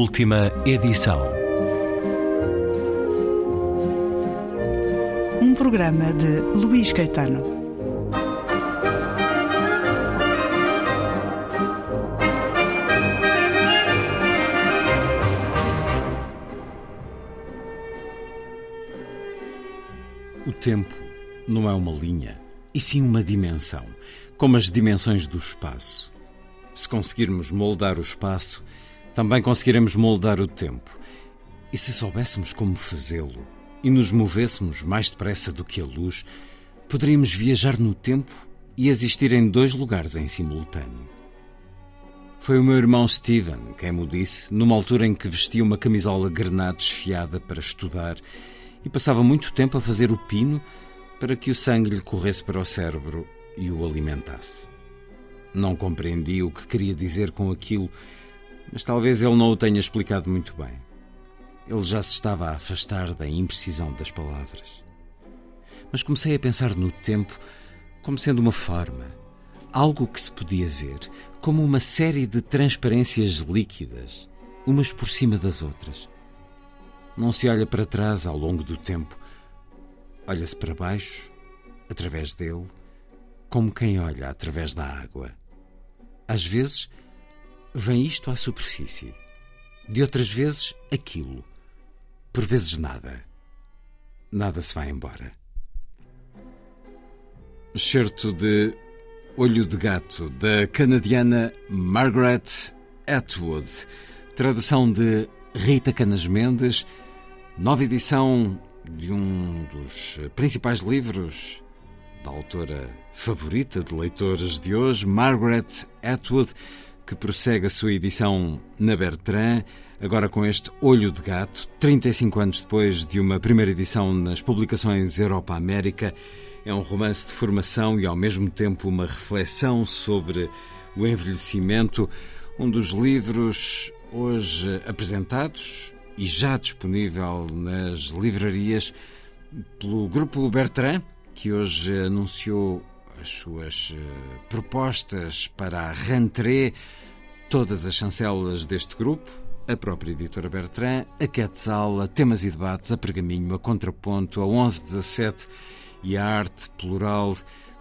última edição. Um programa de Luís Caetano. O tempo não é uma linha, e sim uma dimensão, como as dimensões do espaço. Se conseguirmos moldar o espaço, também conseguiremos moldar o tempo. E se soubéssemos como fazê-lo e nos movêssemos mais depressa do que a luz, poderíamos viajar no tempo e existir em dois lugares em simultâneo. Foi o meu irmão Steven quem me disse, numa altura em que vestia uma camisola grená desfiada para estudar e passava muito tempo a fazer o pino para que o sangue lhe corresse para o cérebro e o alimentasse. Não compreendi o que queria dizer com aquilo, mas talvez ele não o tenha explicado muito bem. Ele já se estava a afastar da imprecisão das palavras. Mas comecei a pensar no tempo como sendo uma forma, algo que se podia ver, como uma série de transparências líquidas, umas por cima das outras. Não se olha para trás ao longo do tempo, olha-se para baixo, através dele, como quem olha através da água. Às vezes, vem isto à superfície. De outras vezes, aquilo. Por vezes, nada. Nada se vai embora. Excerto de Olho de Gato, da canadiana Margaret Atwood. Tradução de Rita Canas Mendes. Nova edição de um dos principais livros da autora favorita de leitores de hoje, Margaret Atwood, que prossegue a sua edição na Bertrand, agora com este Olho de Gato, 35 anos depois de uma primeira edição nas publicações Europa-América. É um romance de formação e, ao mesmo tempo, uma reflexão sobre o envelhecimento. Um dos livros hoje apresentados e já disponível nas livrarias pelo Grupo Bertrand, que hoje anunciou as suas propostas para a rentrée, todas as chancelas deste grupo, a própria editora Bertrand, a Quetzal, a Temas e Debates, a Pergaminho, a Contraponto, a 1117 e a Arte Plural,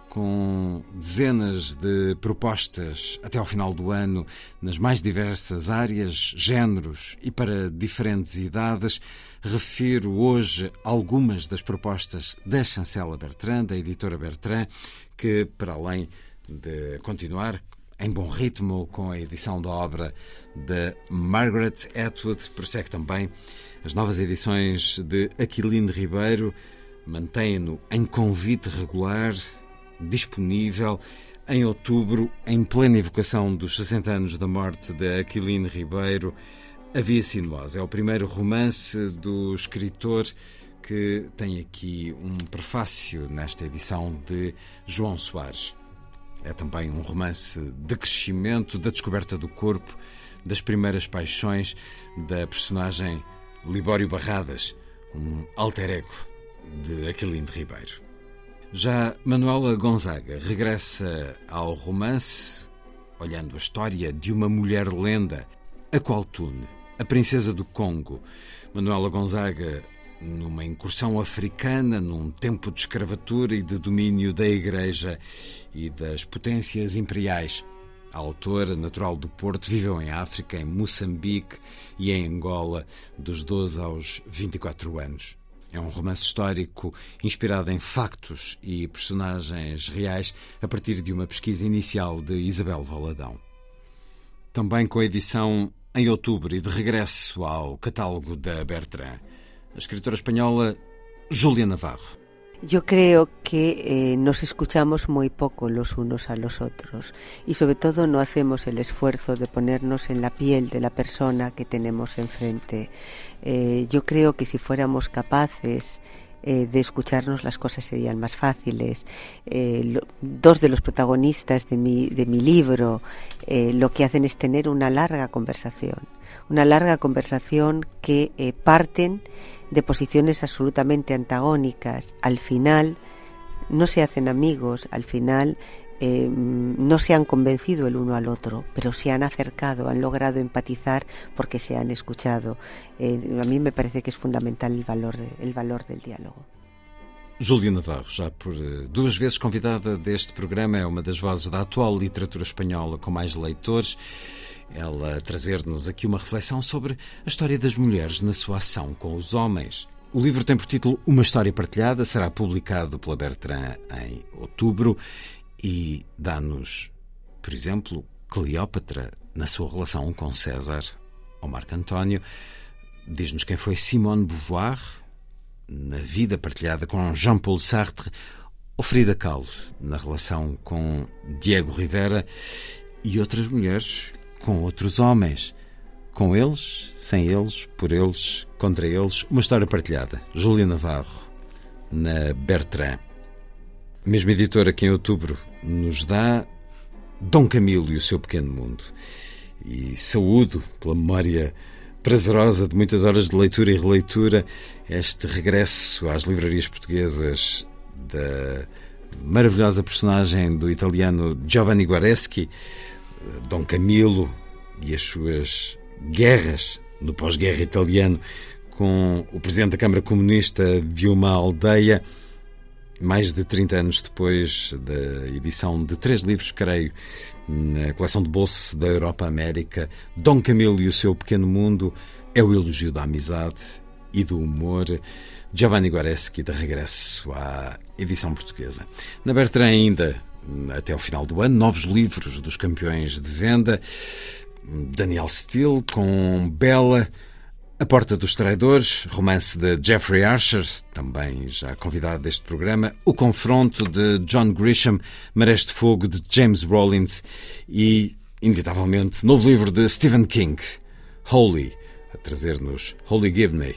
com dezenas de propostas até ao final do ano nas mais diversas áreas, géneros e para diferentes idades. Refiro hoje algumas das propostas da chancela Bertrand, da editora Bertrand, que, para além de continuar em bom ritmo com a edição da obra de Margaret Atwood, prossegue também as novas edições de Aquiline Ribeiro, mantém-no em convite regular, disponível em outubro, em plena evocação dos 60 anos da morte de Aquiline Ribeiro. A Via Sinuosa é o primeiro romance do escritor, que tem aqui um prefácio nesta edição de João Soares. É também um romance de crescimento, da descoberta do corpo, das primeiras paixões da personagem Libório Barradas, um alter ego de Aquiline Ribeiro. Já Manuela Gonzaga regressa ao romance, olhando a história de uma mulher-lenda, a Qualtune, a princesa do Congo. Manuela Gonzaga, numa incursão africana, num tempo de escravatura e de domínio da Igreja e das potências imperiais. A autora, natural do Porto, viveu em África, em Moçambique e em Angola, dos 12 aos 24 anos. É um romance histórico inspirado em factos e personagens reais a partir de uma pesquisa inicial de Isabel Valadão. Também com a edição em outubro e de regresso ao catálogo da Bertrand, a escritora espanhola Júlia Navarro. Yo creo que nos escuchamos muy poco los unos a los otros y sobre todo no hacemos el esfuerzo de ponernos en la piel de la persona que tenemos enfrente. Yo creo que si fuéramos capaces de escucharnos, las cosas serían más fáciles. Dos de los protagonistas de mi libro lo que hacen es tener una larga conversación que parten de posiciones absolutamente antagónicas. Al final no se hacen amigos, al final no se han convencido el uno al otro, pero se han acercado, han logrado empatizar porque se han escuchado. A mí me parece que es fundamental el valor del diálogo. Júlia Navarro, já por 2 vezes convidada deste programa, é uma das vozes da atual literatura espanhola com mais leitores. Ela a trazer-nos aqui uma reflexão sobre a história das mulheres na sua ação com os homens. O livro tem por título Uma História Partilhada, será publicado pela Bertrand em outubro e dá-nos, por exemplo, Cleópatra na sua relação com César ou Marco António. Diz-nos quem foi Simone de Beauvoir na vida partilhada com Jean-Paul Sartre, ou Frida Kahlo na relação com Diego Rivera e outras mulheres com outros homens. Com eles, sem eles, por eles, contra eles, uma história partilhada. Júlia Navarro, na Bertrand. Mesma editora que em outubro nos dá Dom Camilo e o seu pequeno mundo. E saúdo pela memória prazerosa de muitas horas de leitura e releitura este regresso às livrarias portuguesas da maravilhosa personagem do italiano Giovanni Guareschi, Dom Camilo e as suas guerras no pós-guerra italiano com o presidente da Câmara Comunista de uma aldeia, mais de 30 anos depois da edição de 3 livros, creio, na coleção de bolso da Europa América. Dom Camilo e o seu pequeno mundo é o elogio da amizade e do humor. Giovanni Guareschi de regresso à edição portuguesa. Na Bertrand ainda, até ao final do ano, novos livros dos campeões de venda. Daniel Steele com Bella, A Porta dos Traidores, romance de Jeffrey Archer, também já convidado deste programa, O Confronto de John Grisham, Marés de Fogo de James Rollins e, inevitavelmente, novo livro de Stephen King, Holy, a trazer-nos Holly Gibney,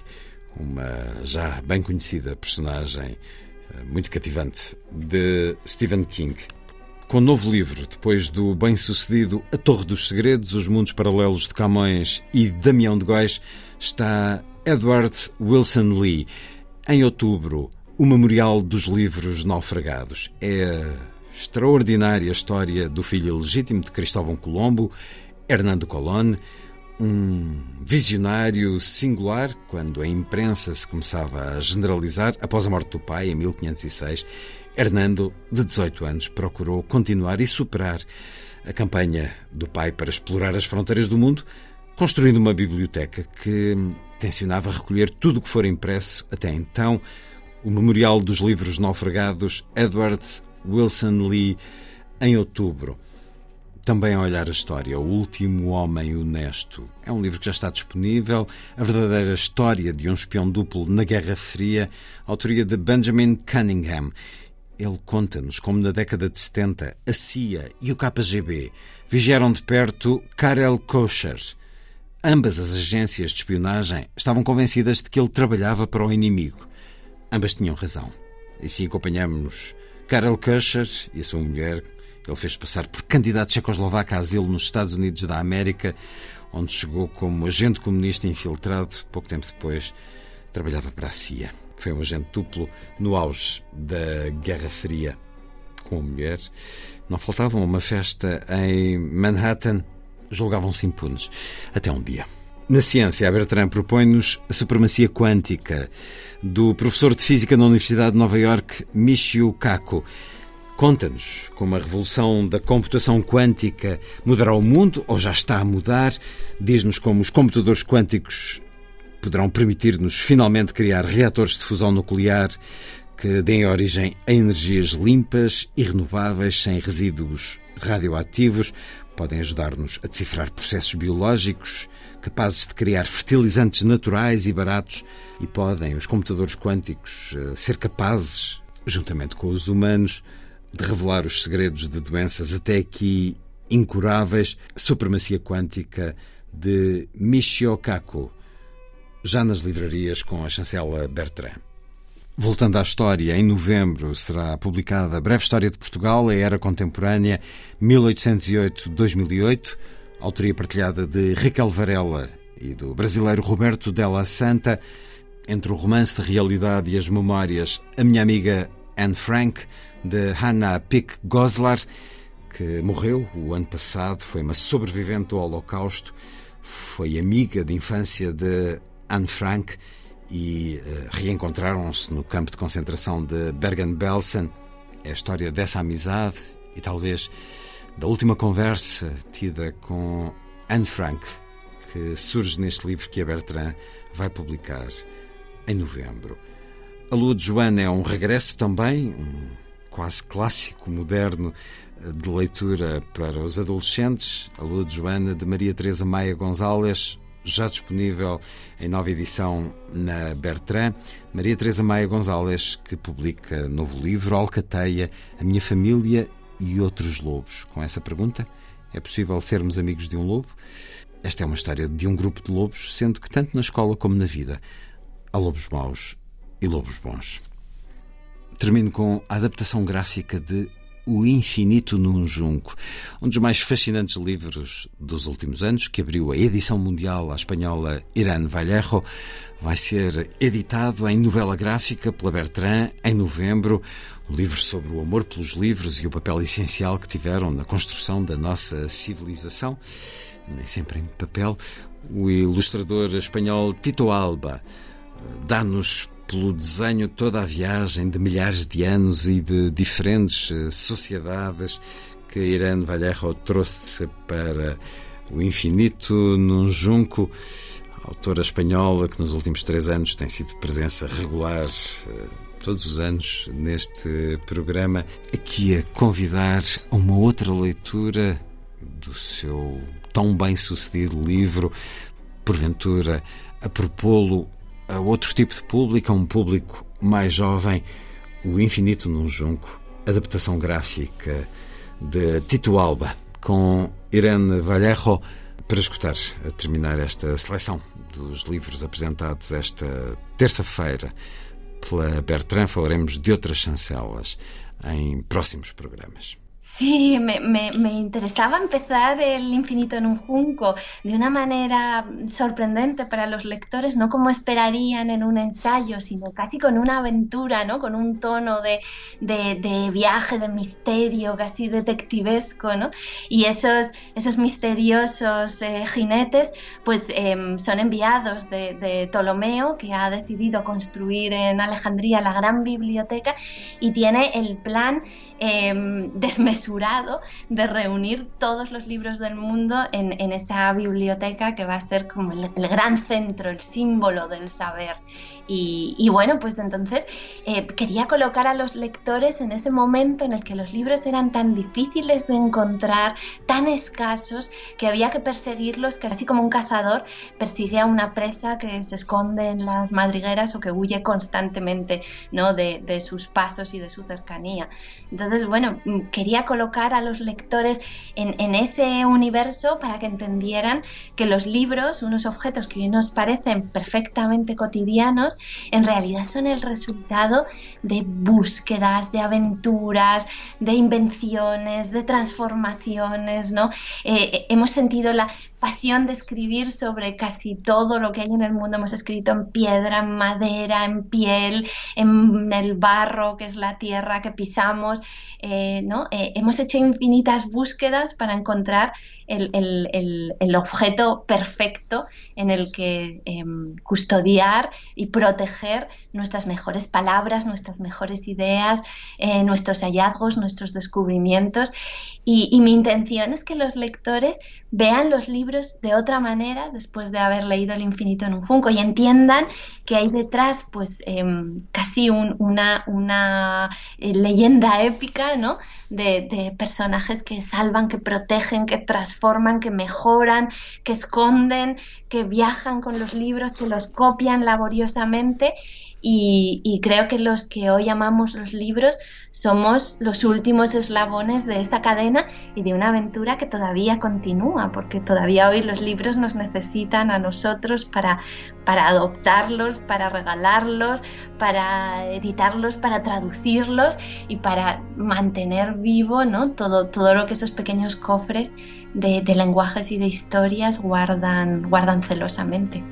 uma já bem conhecida personagem muito cativante de Stephen King. Com um novo livro, depois do bem-sucedido A Torre dos Segredos, Os Mundos Paralelos de Camões e Damião de Góis, está Edward Wilson Lee. Em outubro, o Memorial dos Livros Naufragados. É a extraordinária história do filho legítimo de Cristóvão Colombo, Hernando Colón, um visionário singular quando a imprensa se começava a generalizar após a morte do pai, em 1506. Hernando, de 18 anos, procurou continuar e superar a campanha do pai para explorar as fronteiras do mundo, construindo uma biblioteca que tencionava recolher tudo o que for impresso até então. O Memorial dos Livros Naufragados, Edward Wilson Lee, em outubro. Também a olhar a história, O Último Homem Honesto. É um livro que já está disponível, a verdadeira história de um espião duplo na Guerra Fria, autoria de Benjamin Cunningham. Ele conta-nos como na década de 70 a CIA e o KGB vigiaram de perto Karel Kocher. Ambas as agências de espionagem estavam convencidas de que ele trabalhava para o inimigo. Ambas tinham razão. E assim acompanhamos Karel Kocher e a sua mulher. Ele fez passar por candidato tchecoslovaco a asilo nos Estados Unidos da América, onde chegou como agente comunista infiltrado. Pouco tempo depois, trabalhava para a CIA. Foi um agente duplo no auge da Guerra Fria. Com a mulher, não faltavam uma festa em Manhattan, julgavam-se impunes. Até um dia. Na ciência, a Bertrand propõe-nos a supremacia quântica do professor de física na Universidade de Nova Iorque, Michio Kaku. Conta-nos como a revolução da computação quântica mudará o mundo, ou já está a mudar. Diz-nos como os computadores quânticos poderão permitir-nos finalmente criar reatores de fusão nuclear que deem origem a energias limpas e renováveis, sem resíduos radioativos. Podem ajudar-nos a decifrar processos biológicos, capazes de criar fertilizantes naturais e baratos. E podem os computadores quânticos ser capazes, juntamente com os humanos, de revelar os segredos de doenças até aqui incuráveis. Supremacia Quântica de Michio Kaku, já nas livrarias com a chancela Bertrand. Voltando à história, em novembro será publicada a Breve História de Portugal, a Era Contemporânea, 1808-2008, autoria partilhada de Raquel Varela e do brasileiro Roberto Della Santa. Entre o romance de realidade e as memórias, A Minha Amiga Anne Frank, de Hannah Pick Goslar, que morreu o ano passado, foi uma sobrevivente do Holocausto, foi amiga de infância de Anne Frank e reencontraram-se no campo de concentração de Bergen-Belsen. É a história dessa amizade e talvez da última conversa tida com Anne Frank, que surge neste livro que a Bertrand vai publicar em novembro. A Lua de Joana é um regresso também, um quase clássico moderno de leitura para os adolescentes. A Lua de Joana, de Maria Teresa Maia Gonzalez, já disponível em nova edição na Bertrand. Maria Teresa Maia Gonzalez, que publica novo livro, Alcateia, A Minha Família e Outros Lobos. Com essa pergunta, é possível sermos amigos de um lobo? Esta é uma história de um grupo de lobos, sendo que tanto na escola como na vida há lobos maus e lobos bons. Termino com a adaptação gráfica de O Infinito num Junco, um dos mais fascinantes livros dos últimos anos, que abriu a edição mundial à espanhola Irán Vallejo. Vai ser editado em novela gráfica pela Bertrand em novembro. Um livro sobre o amor pelos livros e o papel essencial que tiveram na construção da nossa civilização, nem sempre em papel. O ilustrador espanhol Tito Alba dá-nos pelo desenho toda a viagem de milhares de anos e de diferentes sociedades que Irán Vallejo trouxe para O Infinito num Junco. A autora espanhola que nos últimos 3 anos tem sido presença regular todos os anos neste programa, aqui a convidar a uma outra leitura do seu tão bem-sucedido livro, porventura a propô-lo a outro tipo de público, a um público mais jovem. O Infinito num Junco, adaptação gráfica de Tito Alba, com Irán Vallejo, para escutar, a terminar esta seleção dos livros apresentados esta terça-feira pela Bertrand. Falaremos de outras chancelas em próximos programas. Sí, me interesaba empezar El Infinito en un Junco de una manera sorprendente para los lectores, no como esperarían en un ensayo, sino casi con una aventura, ¿no? Con un tono de viaje, de misterio, casi detectivesco, ¿no? Y esos misteriosos jinetes pues son enviados de Ptolomeo, que ha decidido construir en Alejandría la gran biblioteca y tiene el plan desmesurado de reunir todos los libros del mundo en esa biblioteca que va a ser como el gran centro, el símbolo del saber. Y bueno, pues entonces quería colocar a los lectores en ese momento en el que los libros eran tan difíciles de encontrar, tan escasos, que había que perseguirlos, casi como un cazador persigue a una presa que se esconde en las madrigueras o que huye constantemente, ¿no? de sus pasos y de su cercanía. Entonces, bueno, quería colocar a los lectores en ese universo para que entendieran que los libros, unos objetos que hoy nos parecen perfectamente cotidianos, en realidad son el resultado de búsquedas, de aventuras, de invenciones, de transformaciones, ¿no? Hemos sentido la pasión de escribir sobre casi todo lo que hay en el mundo. Hemos escrito en piedra, en madera, en piel, en el barro, que es la tierra que pisamos, ¿no? Hemos hecho infinitas búsquedas para encontrar el objeto perfecto en el que custodiar y proteger nuestras mejores palabras, nuestras mejores ideas, nuestros hallazgos, nuestros descubrimientos. Y mi intención es que los lectores vean los libros de otra manera después de haber leído El Infinito en un Junco y entiendan que hay detrás pues casi una leyenda épica, ¿no? de personajes que salvan, que protegen, que transforman, que mejoran, que esconden, que viajan con los libros, que los copian laboriosamente. Y creo que los que hoy amamos los libros somos los últimos eslabones de esa cadena y de una aventura que todavía continúa, porque todavía hoy los libros nos necesitan a nosotros para adoptarlos, para regalarlos, para editarlos, para traducirlos y para mantener vivo, ¿no? todo lo que esos pequeños cofres de lenguajes y de historias guardan celosamente.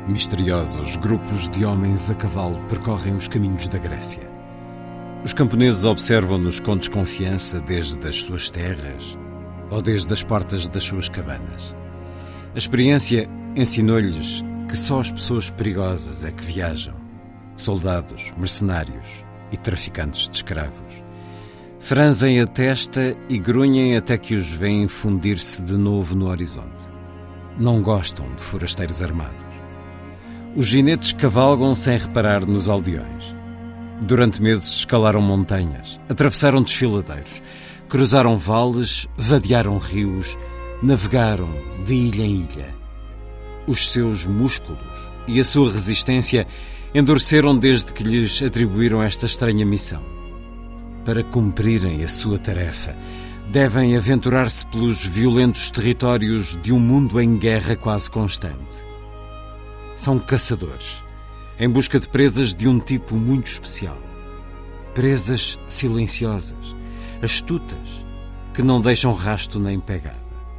Misteriosos grupos de homens a cavalo percorrem os caminhos da Grécia. Os camponeses observam-nos com desconfiança desde as suas terras ou desde as portas das suas cabanas. A experiência ensinou-lhes que só as pessoas perigosas é que viajam. Soldados, mercenários e traficantes de escravos. Franzem a testa e grunhem até que os veem fundir-se de novo no horizonte. Não gostam de forasteiros armados. Os ginetes cavalgam sem reparar nos aldeões. Durante meses escalaram montanhas, atravessaram desfiladeiros, cruzaram vales, vadearam rios, navegaram de ilha em ilha. Os seus músculos e a sua resistência endureceram desde que lhes atribuíram esta estranha missão. Para cumprirem a sua tarefa, devem aventurar-se pelos violentos territórios de um mundo em guerra quase constante. São caçadores, em busca de presas de um tipo muito especial. Presas silenciosas, astutas, que não deixam rasto nem pegada.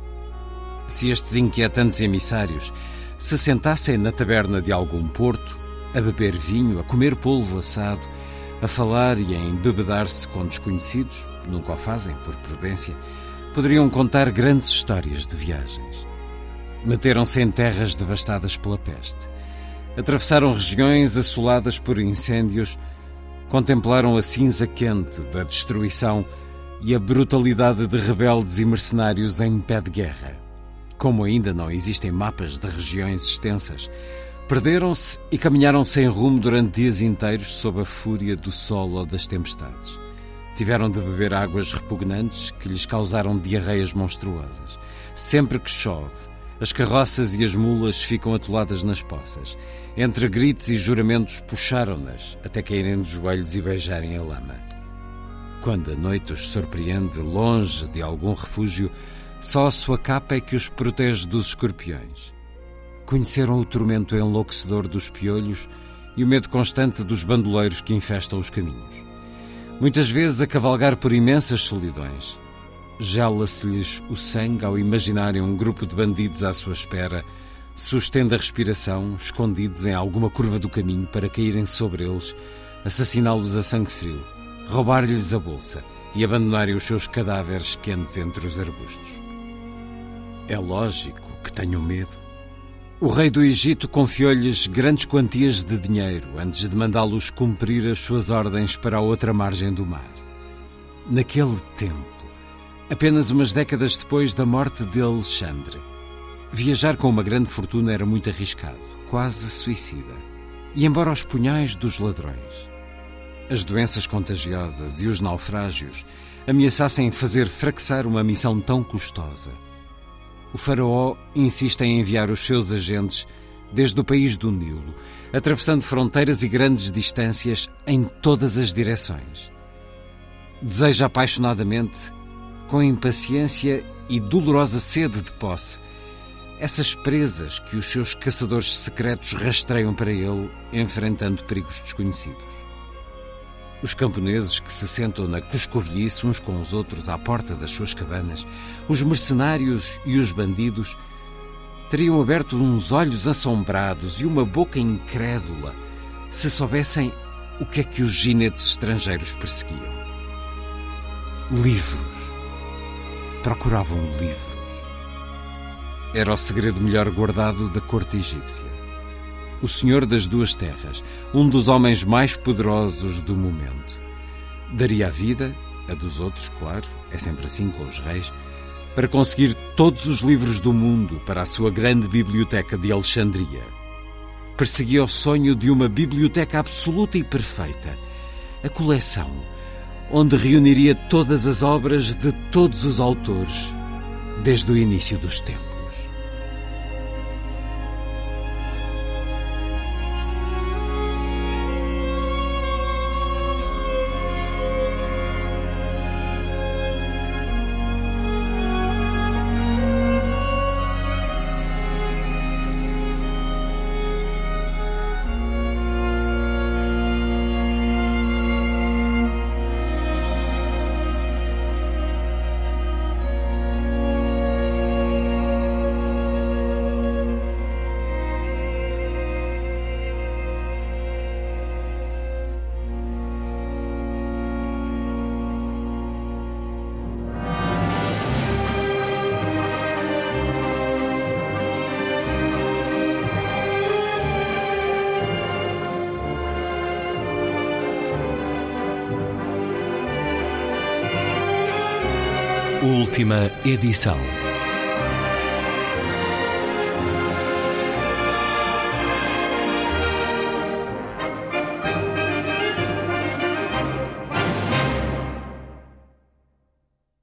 Se estes inquietantes emissários se sentassem na taberna de algum porto, a beber vinho, a comer polvo assado, a falar e a embebedar-se com desconhecidos, nunca o fazem por prudência, poderiam contar grandes histórias de viagens. Meteram-se em terras devastadas pela peste. Atravessaram regiões assoladas por incêndios, contemplaram a cinza quente da destruição e a brutalidade de rebeldes e mercenários em pé de guerra. Como ainda não existem mapas de regiões extensas, perderam-se e caminharam sem rumo durante dias inteiros sob a fúria do sol ou das tempestades. Tiveram de beber águas repugnantes que lhes causaram diarreias monstruosas. Sempre que chove, as carroças e as mulas ficam atoladas nas poças. Entre gritos e juramentos puxaram-nas até caírem dos joelhos e beijarem a lama. Quando a noite os surpreende longe de algum refúgio, só a sua capa é que os protege dos escorpiões. Conheceram o tormento enlouquecedor dos piolhos e o medo constante dos bandoleiros que infestam os caminhos. Muitas vezes a cavalgar por imensas solidões, gela-se-lhes o sangue ao imaginarem um grupo de bandidos à sua espera, sustendo a respiração, escondidos em alguma curva do caminho para caírem sobre eles, assassiná-los a sangue frio, roubar-lhes a bolsa e abandonarem os seus cadáveres quentes entre os arbustos. É lógico que tenham medo. O rei do Egito confiou-lhes grandes quantias de dinheiro antes de mandá-los cumprir as suas ordens para a outra margem do mar. Naquele tempo, apenas umas décadas depois da morte de Alexandre, viajar com uma grande fortuna era muito arriscado, quase suicida. E embora os punhais dos ladrões, as doenças contagiosas e os naufrágios ameaçassem fazer fracassar uma missão tão custosa, o faraó insiste em enviar os seus agentes desde o país do Nilo, atravessando fronteiras e grandes distâncias em todas as direções. Deseja apaixonadamente, com impaciência e dolorosa sede de posse, essas presas que os seus caçadores secretos rastreiam para ele, enfrentando perigos desconhecidos. Os camponeses que se sentam na coscovilhice uns com os outros à porta das suas cabanas, os mercenários e os bandidos, teriam aberto uns olhos assombrados e uma boca incrédula se soubessem o que é que os ginetes estrangeiros perseguiam. Livros. Procuravam livros. Era o segredo melhor guardado da corte egípcia. O Senhor das Duas Terras, um dos homens mais poderosos do momento, daria a vida, a dos outros, claro, é sempre assim com os reis, para conseguir todos os livros do mundo para a sua grande biblioteca de Alexandria. Perseguia o sonho de uma biblioteca absoluta e perfeita, a coleção, onde reuniria todas as obras de todos os autores, desde o início dos tempos. última edição.